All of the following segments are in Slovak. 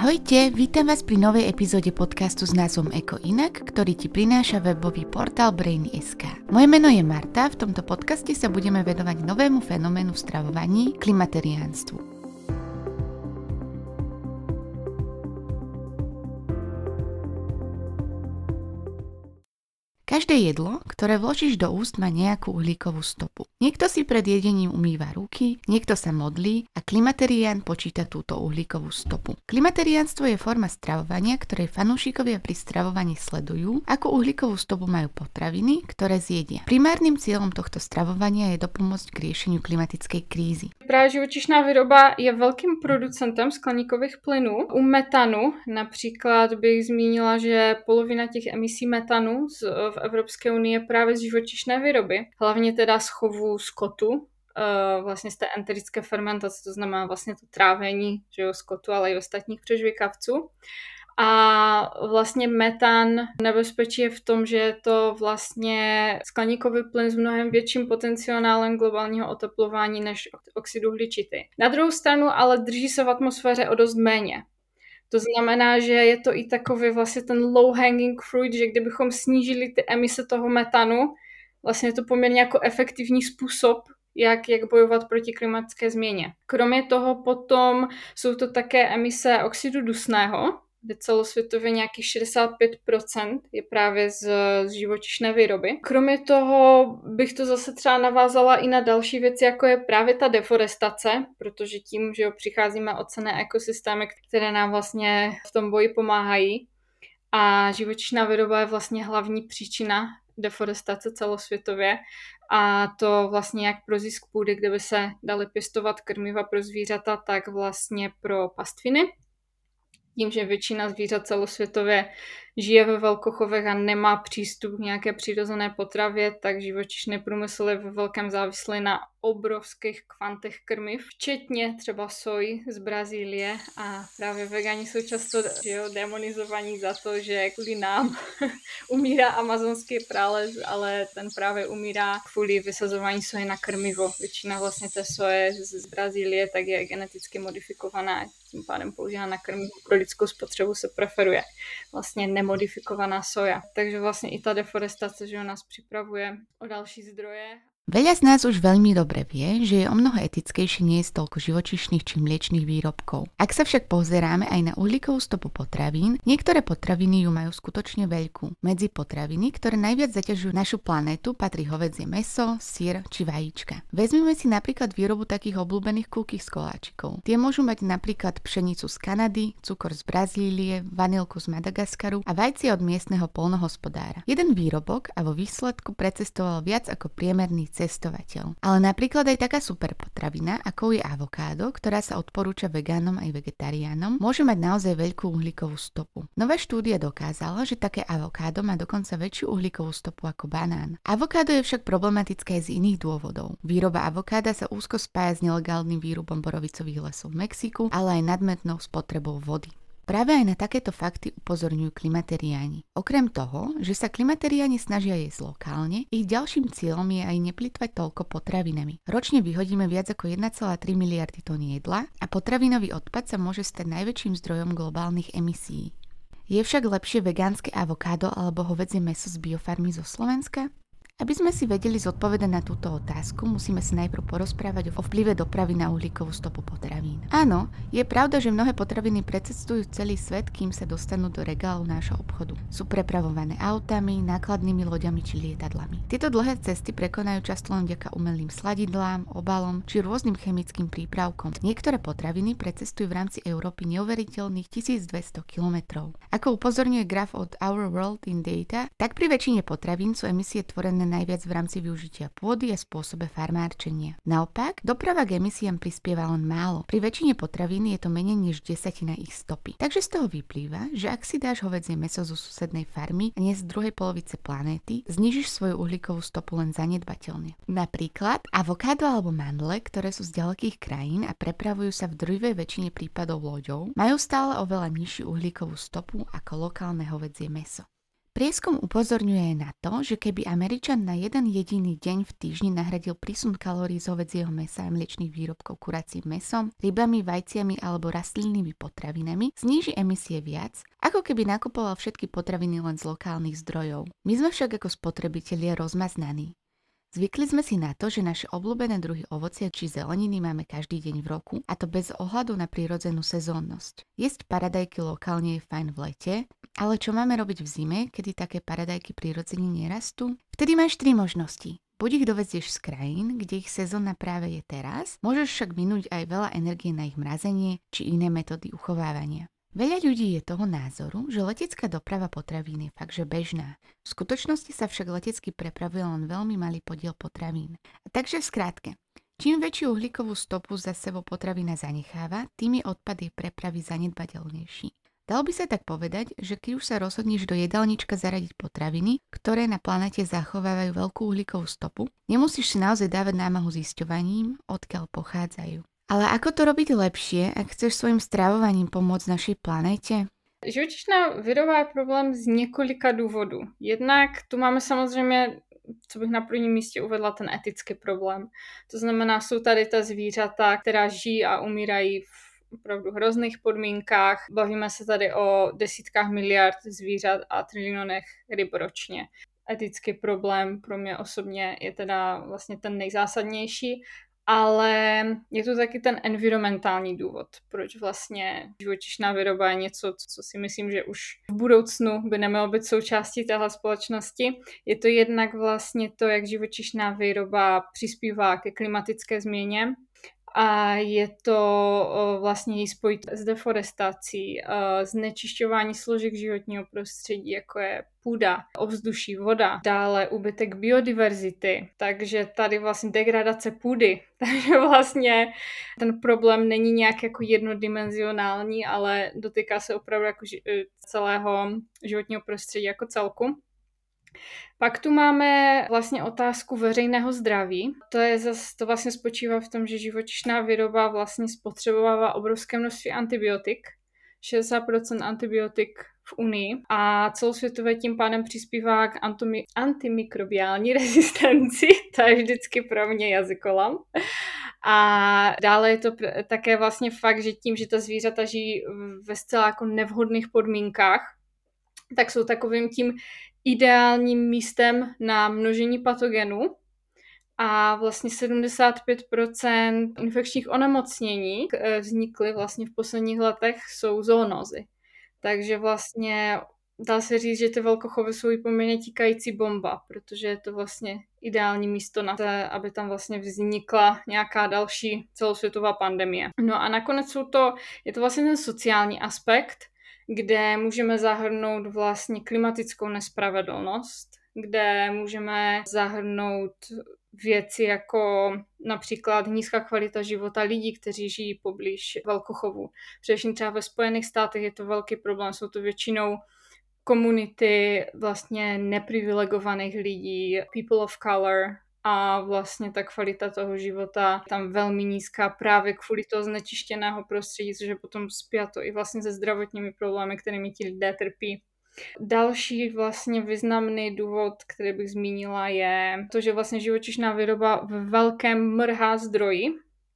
Ahojte, vítam vás pri novej epizóde podcastu s názvom Eko inak, ktorý ti prináša webový portál Brainy.sk. Moje meno je Marta, v tomto podcaste sa budeme venovať novému fenoménu v stravovaní, klimateriánstvu. Každé jedlo, ktoré vložíš do úst, má nejakú uhlíkovú stopu. Niekto si pred jedením umýva ruky, niekto sa modlí a klimaterián počíta túto uhlíkovú stopu. Klimateriánstvo je forma stravovania, ktorej fanúšikovia pri stravovaní sledujú, akú uhlíkovú stopu majú potraviny, ktoré zjedia. Primárnym cieľom tohto stravovania je dopomôcť k riešeniu klimatickej krízy. Právě živočišná výroba je velkým producentem skleníkových plynů. U metanu například bych zmínila, že polovina těch emisí metanu v Evropské unii je právě z živočišné výroby. Hlavně teda z chovu skotu, vlastně z té enterické fermentace, to znamená vlastně to trávení, že jo, skotu, ale i ostatních přežvykavců. A vlastně metan nebezpečí je v tom, že je to vlastně skleníkový plyn s mnohem větším potenciálem globálního oteplování než oxid uhličitý. Na druhou stranu ale drží se v atmosféře o dost méně. To znamená, že je to i takový vlastně ten low hanging fruit, že kdybychom snížili ty emise toho metanu, vlastně je to poměrně jako efektivní způsob, jak bojovat proti klimatické změně. Kromě toho potom jsou to také emise oxidu dusného, kde celosvětově nějakých 65% je právě z živočišné výroby. Kromě toho bych to zase třeba navázala i na další věci, jako je právě ta deforestace, protože tím, že přicházíme o cenné ekosystémy, které nám vlastně v tom boji pomáhají. A živočišná výroba je vlastně hlavní příčina deforestace celosvětově. A to vlastně jak pro zisk půdy, kde by se daly pěstovat krmiva pro zvířata, tak vlastně pro pastviny. Tím, že většina zvířat celosvětově žije ve velkochovech a nemá přístup k nějaké přirozené potravě, tak živočišný průmysl je ve velkém závislý na obrovských kvantech krmiv, včetně třeba soji z Brazílie, a právě vegani jsou často demonizovaní za to, že kvůli nám umírá amazonský prales, ale ten právě umírá kvůli vysazování soje na krmivo. Většina vlastně té soje z Brazílie tak je geneticky modifikovaná, tím pádem používá na krmivo. Pro lidskou spotřebu se preferuje vlastně nemodifikovaná soja. Takže vlastně i ta deforestace, že nás připravuje o další zdroje. Veľa z nás už veľmi dobre vie, že je omnoho etickejšie nejesť toľko živočíšnych či mliečnych výrobkov. Ak sa však pozeráme aj na uhlíkovú stopu potravín, niektoré potraviny ju majú skutočne veľkú. Medzi potraviny, ktoré najviac zaťažujú našu planétu, patrí hovädzie mäso, syr či vajíčka. Vezmime si napríklad výrobu takých obľúbených cookies z koláčikov. Tie môžu mať napríklad pšenicu z Kanady, cukor z Brazílie, vanilku z Madagaskaru a vajcie od miestneho poľnohospodára. Jeden výrobok a vo výsledku precestoval viac ako priemerný cestovateľ. Ale napríklad aj taká super potravina, ako je avokádo, ktorá sa odporúča vegánom aj vegetariánom, môže mať naozaj veľkú uhlíkovú stopu. Nová štúdia dokázala, že také avokádo má dokonca väčšiu uhlíkovú stopu ako banán. Avokádo je však problematické aj z iných dôvodov. Výroba avokáda sa úzko spája s nelegálnym výrubom borovicových lesov v Mexiku, ale aj nadmernou spotrebou vody. Práve aj na takéto fakty upozorňujú klimateriáni. Okrem toho, že sa klimateriáni snažia jesť lokálne, ich ďalším cieľom je aj neplytvať toľko potravinami. Ročne vyhodíme viac ako 1,3 miliardy tón jedla a potravinový odpad sa môže stať najväčším zdrojom globálnych emisí. Je však lepšie vegánske avokádo alebo hovädzie mäso z biofarmy zo Slovenska? Aby sme si vedeli zodpovedať na túto otázku, musíme sa najprv porozprávať o vplyve dopravy na uhlíkovú stopu potravín. Áno, je pravda, že mnohé potraviny precestujú celý svet, kým sa dostanú do regálu nášho obchodu. Sú prepravované autami, nákladnými loďami či lietadlami. Tieto dlhé cesty prekonajú často len vďaka umelým sladidlám, obalom či rôznym chemickým prípravkom. Niektoré potraviny precestujú v rámci Európy neuveriteľných 1200 km. Ako upozorňuje graf od Our World in Data, tak pri väčšine potravín sú emisie tvorené najviac v rámci využitia pôdy a spôsobe farmárčenia. Naopak, doprava k emisiám prispieva len málo. Pri väčšine potravín je to menej než 10% ich stopy. Takže z toho vyplýva, že ak si dáš hovädzie mäso zo susednej farmy a nie z druhej polovice planéty, znížiš svoju uhlíkovú stopu len zanedbateľne. Napríklad avokádo alebo mandle, ktoré sú z ďalekých krajín a prepravujú sa v drvivej väčšine prípadov loďou, majú stále oveľa nižšiu uhlíkovú stopu ako lokálne hovädzie mäso. Prieskum upozorňuje na to, že keby Američan na jeden jediný deň v týždni nahradil prísun kalórií z hovädzieho mäsa a mliečnych výrobkov kuracím mäsom, rybami, vajciami alebo rastlinnými potravinami, zníži emisie viac, ako keby nakupoval všetky potraviny len z lokálnych zdrojov. My sme však ako spotrebitelia rozmaznaní. Zvykli sme si na to, že naše obľúbené druhy ovocia či zeleniny máme každý deň v roku, a to bez ohľadu na prírodzenú sezónnosť. Jesť paradajky lokálne je fajn v lete, ale čo máme robiť v zime, kedy také paradajky prirodzene nerastú? Vtedy máš 3 možnosti. Buď ich dovezieš z krajín, kde ich sezóna práve je teraz, môžeš však minúť aj veľa energie na ich mrazenie či iné metódy uchovávania. Veľa ľudí je toho názoru, že letecká doprava potravín je fakt, že bežná. V skutočnosti sa však letecky prepravuje len veľmi malý podiel potravín. Takže v skratke, čím väčšiu uhlíkovú stopu za sebou potravina zanecháva, tým je odpad jej prepravy zanedbateľnejší. Dalo by sa tak povedať, že keď už sa rozhodneš do jedálnička zaradiť potraviny, ktoré na planete zachovávajú veľkú uhlíkovú stopu, nemusíš si naozaj dávať námahu zisťovaním, odkiaľ pochádzajú. Ale ako to robiť lepšie, ak chceš svojim stravovaním pomôcť našej planéte? Živočišná výroba je problém z několika důvodů. Jednak tu máme samozřejmě, co bych na prvním místě uvedla, ten etický problém. To znamená, jsou tady ta zvířata, která žijí a umírají v opravdu hrozných podmínkách. Bavíme se tady o desítkách miliard zvířat a trilionech ryb ročně. Etický problém pro mě osobně je teda vlastně ten nejzásadnější. Ale je tu taky ten environmentální důvod, proč vlastně živočišná výroba je něco, co si myslím, že už v budoucnu by nemělo být součástí téhle společnosti. Je to jednak vlastně to, jak živočišná výroba přispívá ke klimatické změně, a je to vlastně její spojit s deforestací, znečišťování složek životního prostředí, jako je půda, ovzduší, voda, dále úbytek biodiverzity, takže tady vlastně degradace půdy, takže vlastně ten problém není nějak jako jednodimenzionální, ale dotýká se opravdu jako celého životního prostředí jako celku. Pak tu máme vlastně otázku veřejného zdraví. To vlastně spočívá v tom, že živočišná výroba vlastně spotřebovává obrovské množství antibiotik, 60% antibiotik v Unii, a celosvětově tím pádem přispívá k antimikrobiální rezistenci. To je vždycky pro mě jazykolam. A dále je to také vlastně fakt, že tím, že ta zvířata žijí ve zcela jako nevhodných podmínkách, tak jsou takovým tím ideálním místem na množení patogenů, a vlastně 75% infekčních onemocnění vznikly vlastně v posledních letech jsou zoonózy. Takže vlastně dá se říct, že ty velkochovy jsou i poměrně tíkající bomba, protože je to vlastně ideální místo na to, aby tam vlastně vznikla nějaká další celosvětová pandemie. No a nakonec je to vlastně ten sociální aspekt, kde můžeme zahrnout vlastně klimatickou nespravedlnost, kde můžeme zahrnout věci jako například nízká kvalita života lidí, kteří žijí poblíž velkochovů. Především třeba ve Spojených státech je to velký problém, jsou to většinou komunity vlastně neprivilegovaných lidí, people of color, a vlastně ta kvalita toho života tam velmi nízká právě kvůli toho znečištěného prostředí, což je potom spjato i vlastně se zdravotními problémy, kterými ti lidé trpí. Další vlastně významný důvod, který bych zmínila, je to, že vlastně živočišná výroba v velkém mrhá zdroji,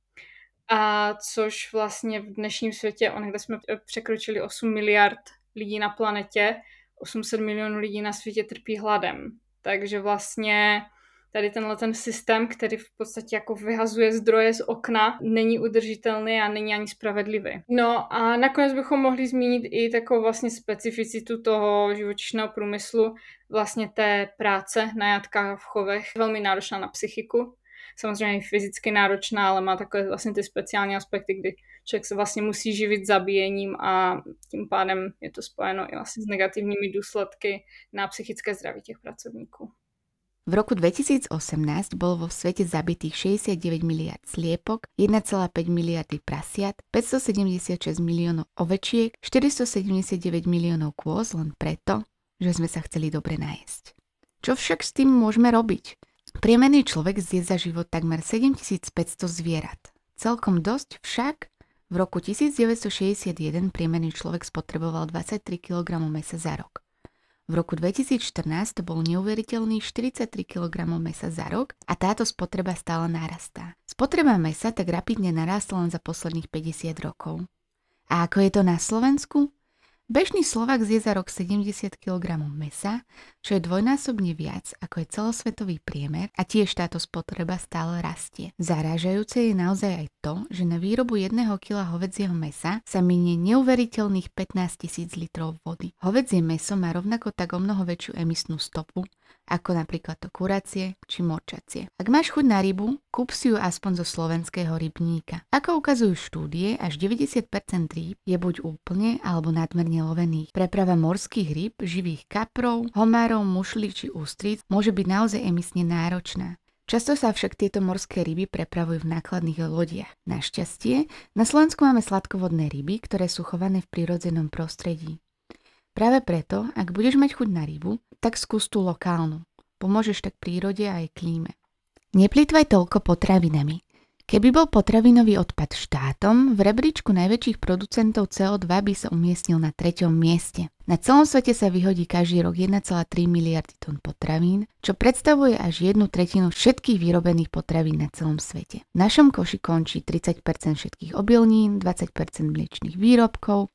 a což vlastně v dnešním světě, kde jsme překročili 8 miliard lidí na planetě, 800 milionů lidí na světě trpí hladem. Takže vlastně tady ten systém, který v podstatě jako vyhazuje zdroje z okna, není udržitelný a není ani spravedlivý. No a nakonec bychom mohli zmínit i takovou vlastně specificitu toho živočišného průmyslu, vlastně té práce na jatkách v chovech, velmi náročná na psychiku. Samozřejmě i fyzicky náročná, ale má takové vlastně ty speciální aspekty, kdy člověk se vlastně musí živit zabíjením, a tím pádem je to spojeno i vlastně s negativními důsledky na psychické zdraví těch pracovníků. V roku 2018 bolo vo svete zabitých 69 miliard sliepok, 1,5 miliardy prasiat, 576 miliónov ovečiek, 479 miliónov kôz len preto, že sme sa chceli dobre najesť. Čo však s tým môžeme robiť? Priemerný človek zje za život takmer 7500 zvierat. Celkom dosť však. V roku 1961 priemerný človek spotreboval 23 kg mäsa za rok. V roku 2014 to bol neuveriteľný 43 kg mesa za rok a táto spotreba stále narastá. Spotreba mesa tak rapidne narástla len za posledných 50 rokov. A ako je to na Slovensku? Bežný Slovák zje za rok 70 kg mesa, čo je dvojnásobne viac ako je celosvetový priemer a tiež táto spotreba stále rastie. Zarážajúce je naozaj aj to, že na výrobu 1 kg hovädzieho mesa sa minie neuveriteľných 15 000 litrov vody. Hovädzie mäso má rovnako tak o mnoho väčšiu emisnú stopu, ako napríklad to kuracie či morčacie. Ak máš chuť na rybu, kúp si ju aspoň zo slovenského rybníka. Ako ukazujú štúdie, až 90% rýb je buď úplne alebo nadmerne lovených. Preprava morských rýb, živých kaprov, homárov, mušlí či ústríc môže byť naozaj emisne náročná. Často sa však tieto morské ryby prepravujú v nákladných lodiach. Našťastie, na Slovensku máme sladkovodné ryby, ktoré sú chované v prírodzenom prostredí. Práve preto, ak budeš mať chuť na rybu, tak skús tú lokálnu. Pomôžeš tak prírode a aj klíme. Neplýtvaj toľko potravinami. Keby bol potravinový odpad štátom, v rebríčku najväčších producentov CO2 by sa umiestnil na 3. mieste. Na celom svete sa vyhodí každý rok 1,3 miliardy tón potravín, čo predstavuje až 1/3 všetkých vyrobených potravín na celom svete. V našom koši končí 30% všetkých obilnín, 20% mliečnych výrobkov,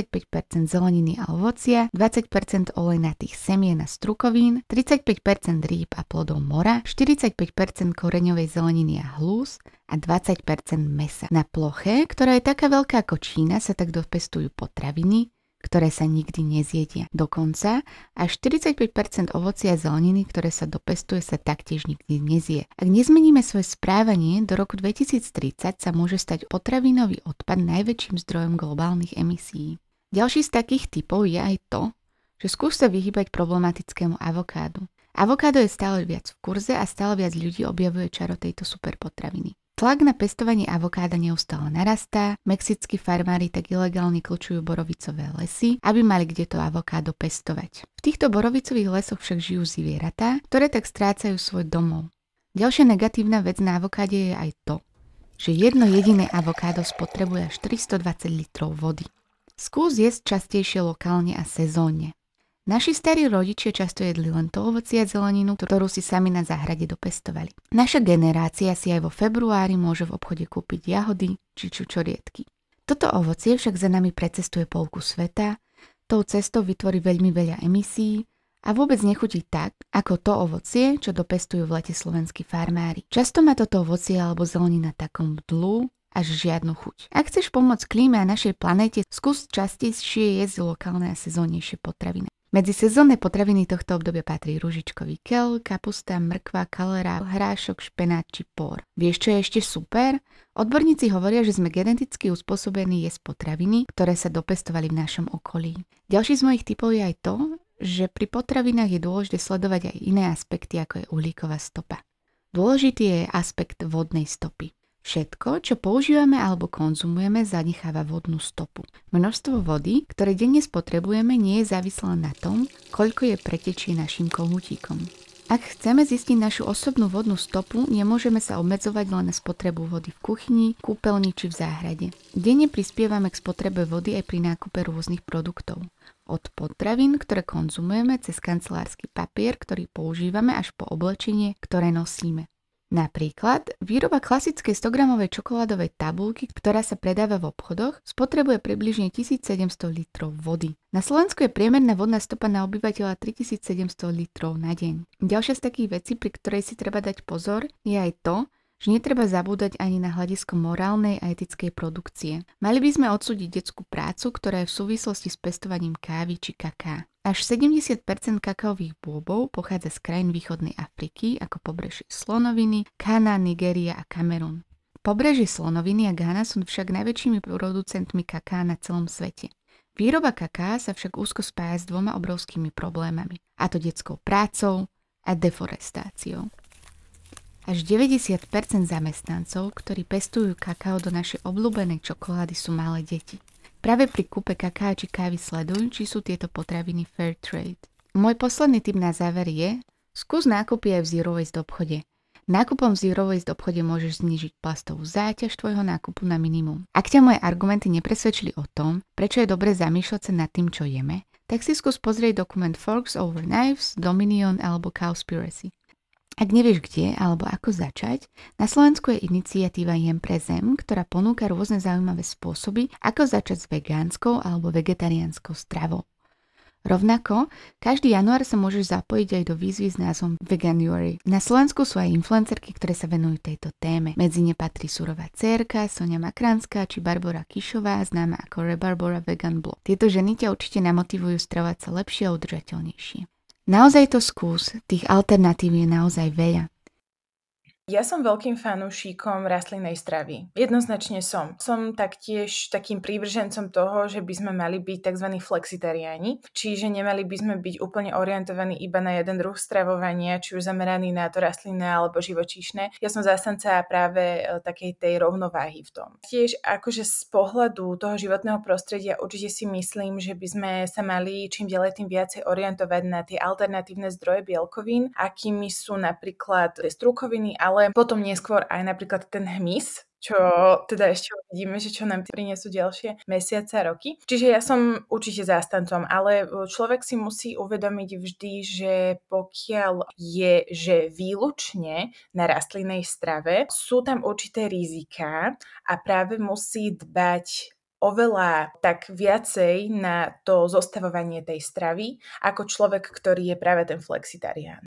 45% zeleniny a ovocia, 20% olejnatých semien a strukovín, 35% rýb a plodov mora, 45% koreňovej zeleniny a hlús a 20% mäsa. Na ploche, ktorá je taká veľká ako Čína, sa tak dopestujú potraviny, ktoré sa nikdy nezjedia. Dokonca až 45% ovocia a zeleniny, ktoré sa dopestuje, sa taktiež nikdy nezje. Ak nezmeníme svoje správanie, do roku 2030 sa môže stať potravinový odpad najväčším zdrojom globálnych emisí. Ďalší z takých typov je aj to, že skús sa vyhýbať problematickému avokádu. Avokádo je stále viac v kurze a stále viac ľudí objavuje čaro tejto superpotraviny. Tlak na pestovanie avokáda neustále narastá, mexickí farmári tak ilegálne kľúčujú borovicové lesy, aby mali kde to avokádo pestovať. V týchto borovicových lesoch však žijú zvieratá, ktoré tak strácajú svoj domov. Ďalšia negatívna vec na avokáde je aj to, že jedno jediné avokádo spotrebuje až 420 litrov vody. Skús jesť častejšie lokálne a sezónne. Naši starí rodičia často jedli len to ovocie a zeleninu, ktorú si sami na záhrade dopestovali. Naša generácia si aj vo februári môže v obchode kúpiť jahody či čučoriedky. Toto ovocie však za nami precestuje polku sveta, tou cestou vytvorí veľmi veľa emisí a vôbec nechutí tak, ako to ovocie, čo dopestujú v lete slovenskí farmári. Často má toto ovocie alebo zelenina takom dlú až žiadnu chuť. Ak chceš pomôcť klíme a našej planéte, skús častejšie jesť lokálne a sezónnejšie potraviny. Medzi sezónne potraviny tohto obdobia patrí ružičkový keľ, kapusta, mrkva, kalera, hrášok, špenát či pór. Vieš, čo je ešte super? Odborníci hovoria, že sme geneticky uspôsobení jesť potraviny, ktoré sa dopestovali v našom okolí. Ďalší z mojich tipov je aj to, že pri potravinách je dôležité sledovať aj iné aspekty, ako je uhlíková stopa. Dôležitý je aspekt vodnej stopy. Všetko, čo používame alebo konzumujeme, zanecháva vodnú stopu. Množstvo vody, ktoré denne spotrebujeme, nie je závislé na tom, koľko je pretečie našim kohútikom. Ak chceme zistiť našu osobnú vodnú stopu, nemôžeme sa obmedzovať len na spotrebu vody v kuchyni, kúpeľni či v záhrade. Denne prispievame k spotrebe vody aj pri nákupe rôznych produktov. Od potravín, ktoré konzumujeme, cez kancelársky papier, ktorý používame, až po oblečenie, ktoré nosíme. Napríklad, výroba klasickej 100-gramovej čokoládovej tabuľky, ktorá sa predáva v obchodoch, spotrebuje približne 1700 litrov vody. Na Slovensku je priemerná vodná stopa na obyvateľa 3700 litrov na deň. Ďalšia z takých vecí, pri ktorej si treba dať pozor, je aj to, že netreba zabúdať ani na hľadisko morálnej a etickej produkcie. Mali by sme odsúdiť detskú prácu, ktorá je v súvislosti s pestovaním kávy či kaká. Až 70% kakaových bôbov pochádza z krajín východnej Afriky, ako pobrežie Slonoviny, Ghana, Nigéria a Kamerun. Pobrežie Slonoviny a Ghana sú však najväčšími producentmi kaká na celom svete. Výroba kaká sa však úzko spája s dvoma obrovskými problémami, a to detskou prácou a deforestáciou. Až 90% zamestnancov, ktorí pestujú kakao do našej obľúbenej čokolády, sú malé deti. Práve pri kúpe kaká či kávy sleduj, či sú tieto potraviny fair trade. Môj posledný tip na záver je, skús nákupy aj v zero waste obchode. Nákupom v zero waste obchode môžeš znížiť plastovú záťaž tvojho nákupu na minimum. Ak ťa moje argumenty nepresvedčili o tom, prečo je dobre zamýšľať sa nad tým, čo jeme, tak si skús pozrieť dokument Forks Over Knives, Dominion alebo Cowspiracy. Ak nevieš kde alebo ako začať, na Slovensku je iniciatíva Jem pre zem, ktorá ponúka rôzne zaujímavé spôsoby, ako začať s vegánskou alebo vegetariánskou stravou. Rovnako, každý január sa môžeš zapojiť aj do výzvy s názvom Veganuary. Na Slovensku sú aj influencerky, ktoré sa venujú tejto téme. Medzi ne patrí Surová dcérka, Sonia Makranská či Barbora Kišová, známa ako Rebarbora Vegan Blog. Tieto ženy ťa určite namotivujú stravovať sa lepšie a udržateľnejšie. Naozaj to skús, tých alternatív je naozaj veľa. Ja som veľkým fanúšikom rastlinnej stravy. Jednoznačne som. Som taktiež takým prívržencom toho, že by sme mali byť tzv. Flexitariáni, čiže nemali by sme byť úplne orientovaní iba na jeden druh stravovania, či už zameraný na to rastlinné alebo živočíšne. Ja som zástanca práve takej tej rovnováhy v tom. Tiež akože z pohľadu toho životného prostredia určite si myslím, že by sme sa mali čím ďalej tým viacej orientovať na tie alternatívne zdroje bielkovín, akými sú napríklad strukoviny, ale potom neskôr aj napríklad ten hmyz, čo teda ešte uvidíme, že čo nám prinesú ďalšie mesiace a roky. Čiže ja som určite zástancom, ale človek si musí uvedomiť vždy, že pokiaľ je, že výlučne na rastlinnej strave, sú tam určité riziká a práve musí dbať oveľa tak viacej na to zostavovanie tej stravy, ako človek, ktorý je práve ten flexitarián.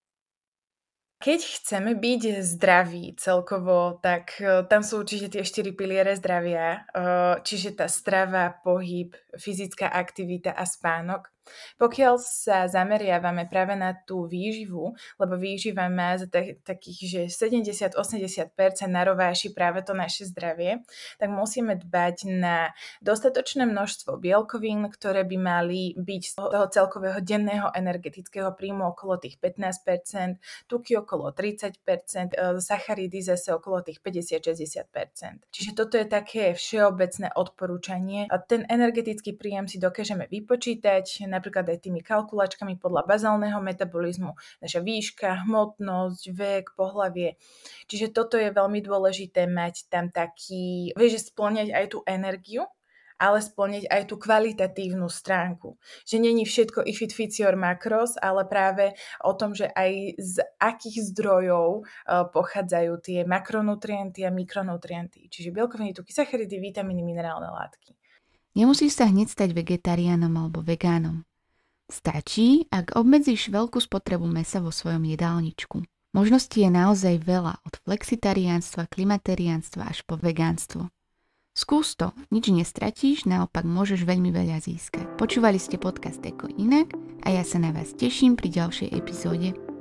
Keď chceme byť zdraví celkovo, tak tam sú určite tie 4 piliere zdravia, čiže tá strava, pohyb, fyzická aktivita a spánok. Pokiaľ sa zameriavame práve na tú výživu, lebo výživa má za takých, že 70-80% narováši práve to naše zdravie, tak musíme dbať na dostatočné množstvo bielkovín, ktoré by mali byť z toho celkového denného energetického príjmu okolo tých 15%, tuky okolo 30%, sacharidy zase okolo tých 50-60%. Čiže toto je také všeobecné odporúčanie. A ten energetický príjem si dokážeme vypočítať napríklad aj tými kalkulačkami podľa bazálneho metabolizmu, naša výška, hmotnosť, vek, pohlavie. Čiže toto je veľmi dôležité mať tam taký, vieš, spĺňať aj tú energiu, ale spĺňať aj tú kvalitatívnu stránku. Že není všetko if it fits your macros, ale práve o tom, že aj z akých zdrojov pochádzajú tie makronutrienty a mikronutrienty. Čiže bielkoviny, tuky, sacharidy, vitamíny, minerálne látky. Nemusíš sa hneď stať vegetariánom alebo vegánom. Stačí, ak obmedzíš veľkú spotrebu mäsa vo svojom jedálničku. Možností je naozaj veľa, od flexitariánstva, klimatariánstva až po vegánstvo. Skús to, nič nestratíš, naopak môžeš veľmi veľa získať. Počúvali ste podcast Eko inak a ja sa na vás teším pri ďalšej epizóde.